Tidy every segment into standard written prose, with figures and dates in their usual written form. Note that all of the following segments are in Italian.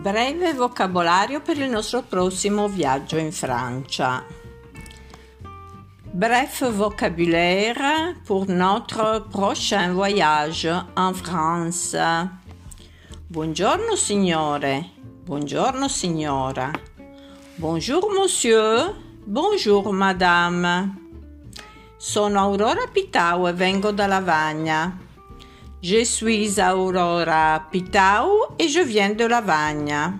Breve vocabolario per il nostro prossimo viaggio in Francia. Bref vocabulaire pour notre prochain voyage en France. Buongiorno signore, buongiorno signora. Bonjour monsieur, bonjour madame. Sono Aurora Pitau e vengo da Lavagna. Je suis Aurora Pitau et je viens de Lavagna.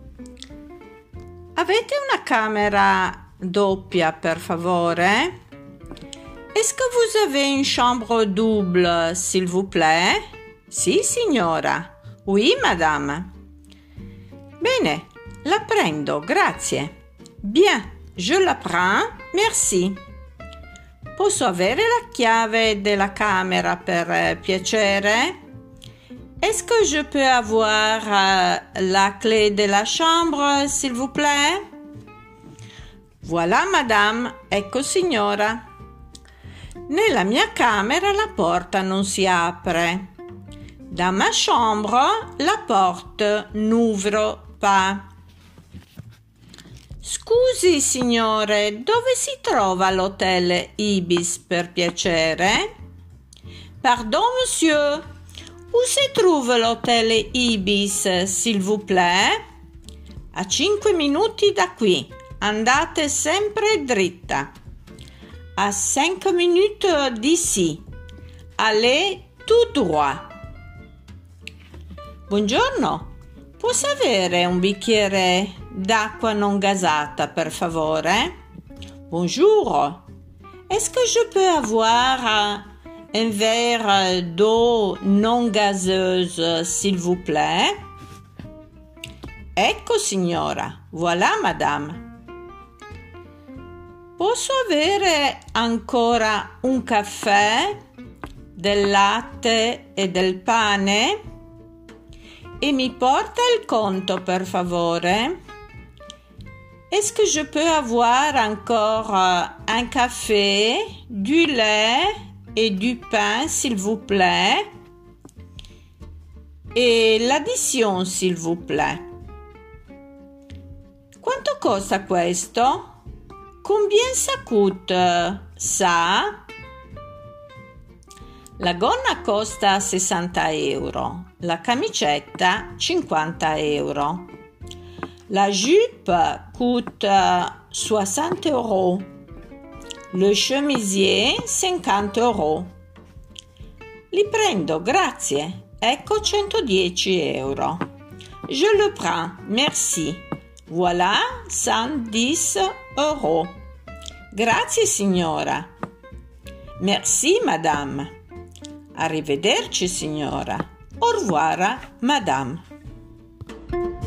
Avete una camera doppia, per favore? Est-ce que vous avez une chambre double, s'il vous plaît? Sì, signora. Oui, madame. Bene, la prendo, grazie. Bien, je la prends, merci. Posso avere la chiave della camera per piacere? Est-ce que je peux avoir la clé de la chambre, s'il vous plaît? Voilà, madame. Ecco, signora. Nella mia camera la porta non si apre. Dans ma chambre, la porte n'ouvre pas. Scusi, signore, dove si trova l'hotel Ibis, per piacere? Pardon, monsieur. Où se trouve l'hotel Ibis, s'il vous plaît? A 5 minuti da qui. Andate sempre dritta. À 5 minutes d'ici. Allez tout droit. Buongiorno. Posso avere un bicchiere d'acqua non gasata, per favore? Bonjour. Est-ce que je peux avoir un verre d'eau non gazeuse, s'il vous plaît? Ecco, signora. Voilà, madame. Posso avere ancora un caffè, del latte e del pane? E mi porta il conto, per favore? Est-ce que je peux avoir encore un café, du lait et du pain, s'il vous plaît? Et l'addition, s'il vous plaît. Quanto costa questo? Combien ça coûte, ça? La gonna costa 60 euro, la camicetta 50 euro. La jupe coûte 60 euros, le chemisier 50 euros. Li prendo, grazie. Ecco 110 euro. Je le prends, merci. Voilà 110 euros. Grazie, signora. Merci, madame. Arrivederci, signora. Au revoir, madame.